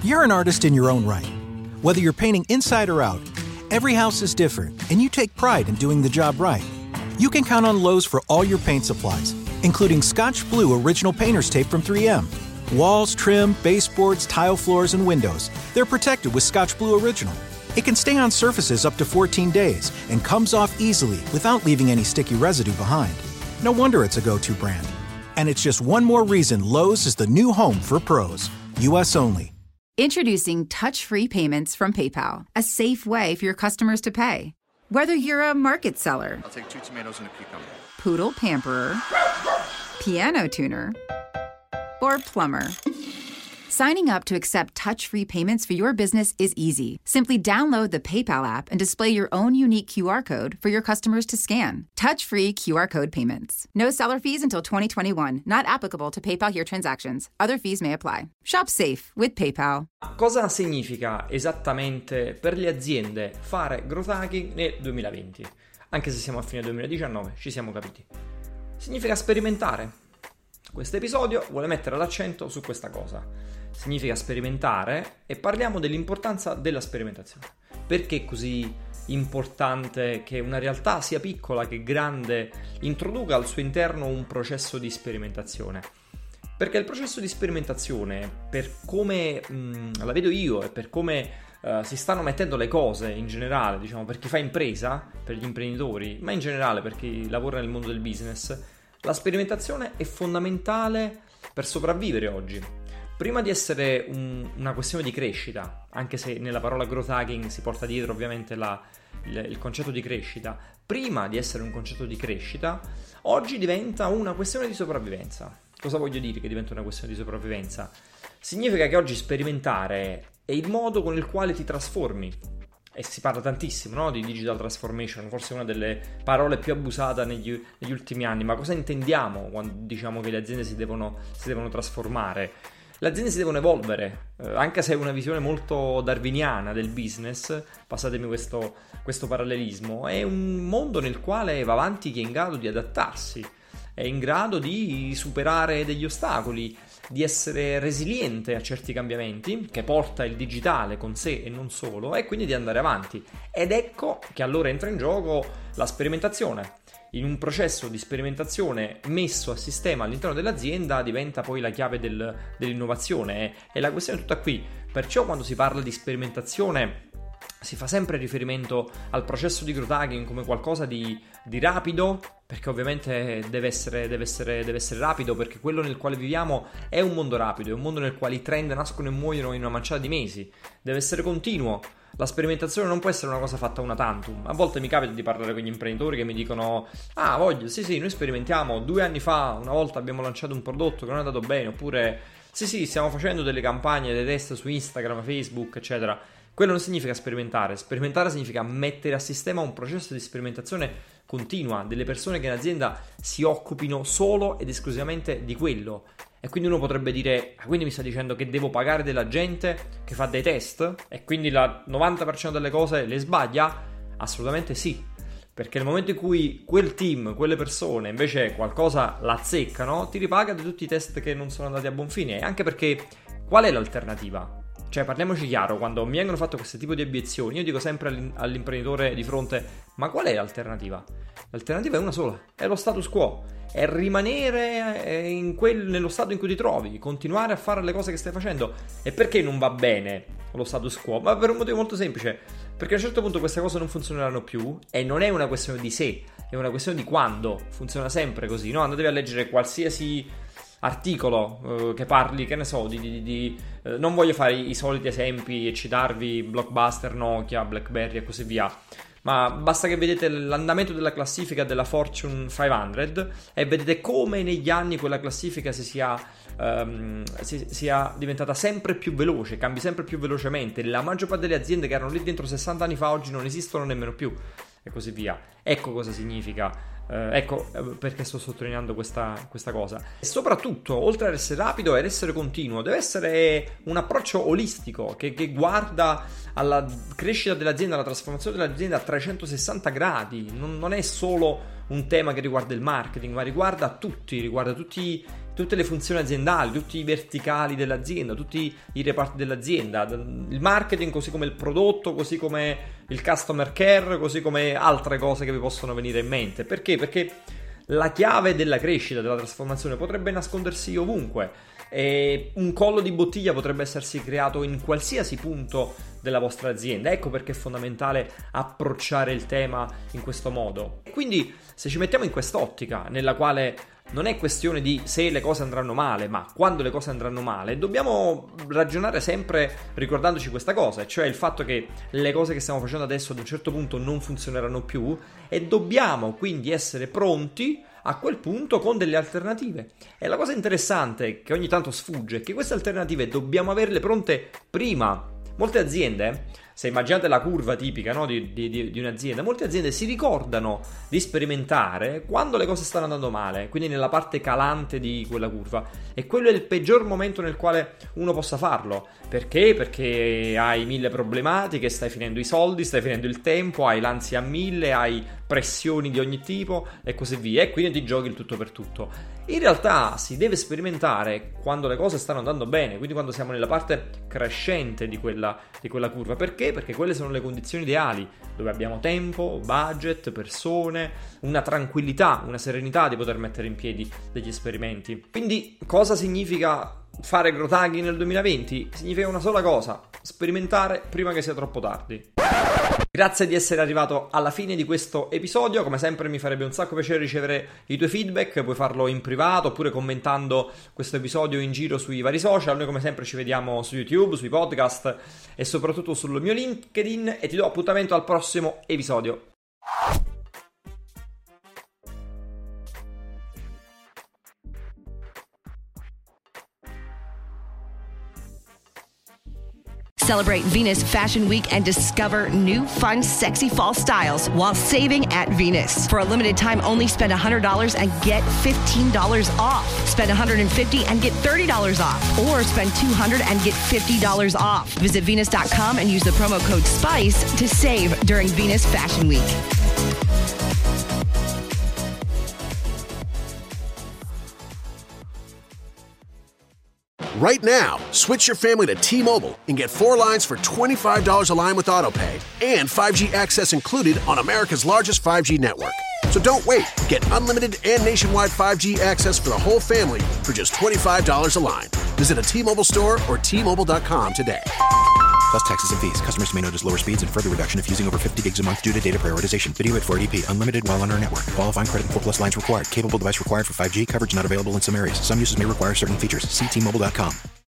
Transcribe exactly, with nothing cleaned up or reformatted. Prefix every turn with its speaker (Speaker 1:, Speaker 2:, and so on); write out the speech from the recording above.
Speaker 1: You're an artist in your own right. Whether you're painting inside or out, every house is different, and you take pride in doing the job right. You can count on Lowe's for all your paint supplies, including Scotch Blue Original Painter's Tape from three M. Walls, trim, baseboards, tile floors, and windows. They're protected with Scotch Blue Original. It can stay on surfaces up to fourteen days and comes off easily without leaving any sticky residue behind. No wonder it's a go-to brand. And it's just one more reason Lowe's is the new home for pros. U S only.
Speaker 2: Introducing touch-free payments from PayPal, a safe way for your customers to pay. Whether you're a market seller,
Speaker 3: I'll take two tomatoes and a cucumber,
Speaker 2: poodle pamperer, piano tuner, or plumber. Signing up to accept touch-free payments for your business is easy. Simply download the PayPal app and display your own unique Q R code for your customers to scan. Touch-free Q R code payments. No seller fees until twenty twenty-one. Not applicable to PayPal Here transactions. Other fees may apply. Shop safe with PayPal.
Speaker 4: Cosa significa esattamente per le aziende fare growth hacking nel duemilaventi? Anche se siamo a fine duemiladiciannove, ci siamo capiti. Significa sperimentare. Questo episodio vuole mettere l'accento su questa cosa. Significa sperimentare e parliamo dell'importanza della sperimentazione. Perché è così importante che una realtà sia piccola che grande introduca al suo interno un processo di sperimentazione? Perché il processo di sperimentazione, per come mh, la vedo io e per come uh, si stanno mettendo le cose in generale, diciamo per chi fa impresa, per gli imprenditori, ma in generale per chi lavora nel mondo del business, la sperimentazione è fondamentale per sopravvivere oggi. Prima di essere un, una questione di crescita, anche se nella parola growth hacking si porta dietro ovviamente la, il, il concetto di crescita, prima di essere un concetto di crescita, oggi diventa una questione di sopravvivenza. Cosa voglio dire che diventa una questione di sopravvivenza? Significa che oggi sperimentare è il modo con il quale ti trasformi. E si parla tantissimo, no? Di digital transformation, forse una delle parole più abusate negli, negli ultimi anni. Ma cosa intendiamo quando diciamo che le aziende si devono, si devono trasformare? Le aziende si devono evolvere, eh, anche se è una visione molto darwiniana del business, passatemi questo, questo parallelismo, è un mondo nel quale va avanti chi è in grado di adattarsi, è in grado di superare degli ostacoli, di essere resiliente a certi cambiamenti che porta il digitale con sé e non solo, e quindi di andare avanti. Ed ecco che allora entra in gioco la sperimentazione. In un processo di sperimentazione messo a sistema all'interno dell'azienda diventa poi la chiave del, dell'innovazione, e la questione è tutta qui. Perciò quando si parla di sperimentazione si fa sempre riferimento al processo di growth hacking come qualcosa di, di rapido, perché ovviamente deve essere, deve, essere, deve essere rapido, perché quello nel quale viviamo è un mondo rapido, è un mondo nel quale i trend nascono e muoiono in una manciata di mesi. Deve essere continuo. La sperimentazione non può essere una cosa fatta una tantum. A volte mi capita di parlare con gli imprenditori che mi dicono: ah, voglio, sì sì, noi sperimentiamo, due anni fa una volta abbiamo lanciato un prodotto che non è andato bene, oppure sì sì, stiamo facendo delle campagne, dei test su Instagram, Facebook, eccetera. Quello non significa sperimentare. Sperimentare significa mettere a sistema un processo di sperimentazione continua, delle persone che in azienda si occupino solo ed esclusivamente di quello. E quindi uno potrebbe dire: ah, quindi mi sta dicendo che devo pagare della gente che fa dei test e quindi il novanta per cento delle cose le sbaglia? Assolutamente sì, perché nel momento in cui quel team, quelle persone invece qualcosa la azzeccano, ti ripaga di tutti i test che non sono andati a buon fine. Anche perché qual è l'alternativa? Cioè, parliamoci chiaro, quando mi vengono fatte questo tipo di obiezioni, io dico sempre all'imprenditore di fronte: ma qual è l'alternativa? L'alternativa è una sola, è lo status quo, è rimanere in quel, nello stato in cui ti trovi, continuare a fare le cose che stai facendo. E perché non va bene lo status quo? Ma per un motivo molto semplice, perché a un certo punto queste cose non funzioneranno più, e non è una questione di se, è una questione di quando. Funziona sempre così, no? Andatevi a leggere qualsiasi articolo eh, che parli, che ne so, di, di, di eh, non voglio fare i, i soliti esempi e citarvi Blockbuster, Nokia, BlackBerry e così via, ma basta che vedete l'andamento della classifica della Fortune cinquecento e vedete come negli anni quella classifica si sia, um, si, sia diventata sempre più veloce, cambi sempre più velocemente. La maggior parte delle aziende che erano lì dentro sessanta anni fa oggi non esistono nemmeno più, e così via. Ecco cosa significa. Uh, ecco uh, perché sto sottolineando questa, questa cosa. E soprattutto, oltre ad essere rapido, ad essere continuo, deve essere un approccio olistico che, che guarda alla crescita dell'azienda, alla trasformazione dell'azienda a trecentosessanta gradi. Non, non è solo un tema che riguarda il marketing, ma riguarda tutti, riguarda tutti, tutte le funzioni aziendali, tutti i verticali dell'azienda, tutti i reparti dell'azienda, il marketing così come il prodotto, così come il customer care, così come altre cose che vi possono venire in mente. Perché? Perché la chiave della crescita, della trasformazione potrebbe nascondersi ovunque. E un collo di bottiglia potrebbe essersi creato in qualsiasi punto della vostra azienda. Ecco perché è fondamentale approcciare il tema in questo modo. Quindi se ci mettiamo in quest'ottica nella quale non è questione di se le cose andranno male, ma quando le cose andranno male, dobbiamo ragionare sempre ricordandoci questa cosa, cioè il fatto che le cose che stiamo facendo adesso ad un certo punto non funzioneranno più e dobbiamo quindi essere pronti a quel punto con delle alternative. E la cosa interessante che ogni tanto sfugge è che queste alternative dobbiamo averle pronte prima. Molte aziende, se immaginate la curva tipica, no, di, di, di un'azienda, molte aziende si ricordano di sperimentare quando le cose stanno andando male, quindi nella parte calante di quella curva, e quello è il peggior momento nel quale uno possa farlo. Perché? Perché hai mille problematiche, stai finendo i soldi, stai finendo il tempo, hai l'ansia a mille, hai pressioni di ogni tipo e così via, e quindi ti giochi il tutto per tutto. In realtà si deve sperimentare quando le cose stanno andando bene, quindi quando siamo nella parte crescente di quella, di quella curva. Perché? Perché quelle sono le condizioni ideali, dove abbiamo tempo, budget, persone, una tranquillità, una serenità di poter mettere in piedi degli esperimenti. Quindi cosa significa fare growth hacking nel duemilaventi? Significa una sola cosa: sperimentare prima che sia troppo tardi. Grazie di essere arrivato alla fine di questo episodio. Come sempre mi farebbe un sacco piacere ricevere i tuoi feedback. Puoi farlo in privato oppure commentando questo episodio in giro sui vari social. Noi come sempre ci vediamo su YouTube, sui podcast e soprattutto sul mio LinkedIn, e ti do appuntamento al prossimo episodio.
Speaker 3: Celebrate Venus Fashion Week and discover new, fun, sexy fall styles while saving at Venus. For a limited time only, spend one hundred dollars and get fifteen dollars off. Spend one hundred fifty dollars and get thirty dollars off. Or spend two hundred dollars and get fifty dollars off. Visit Venus dot com and use the promo code SPICE to save during Venus Fashion Week.
Speaker 5: Right now, switch your family to T-Mobile and get four lines for twenty-five dollars a line with AutoPay and five G access included on America's largest five G network. So don't wait. Get unlimited and nationwide five G access for the whole family for just twenty-five dollars a line. Visit a T-Mobile store or T Mobile dot com today.
Speaker 6: Plus taxes and fees. Customers may notice lower speeds and further reduction if using over fifty gigs a month due to data prioritization. Video at four eighty p. Unlimited while on our network. Qualifying credit and four plus lines required. Capable device required for five G. Coverage not available in some areas. Some uses may require certain features. See T Mobile dot com.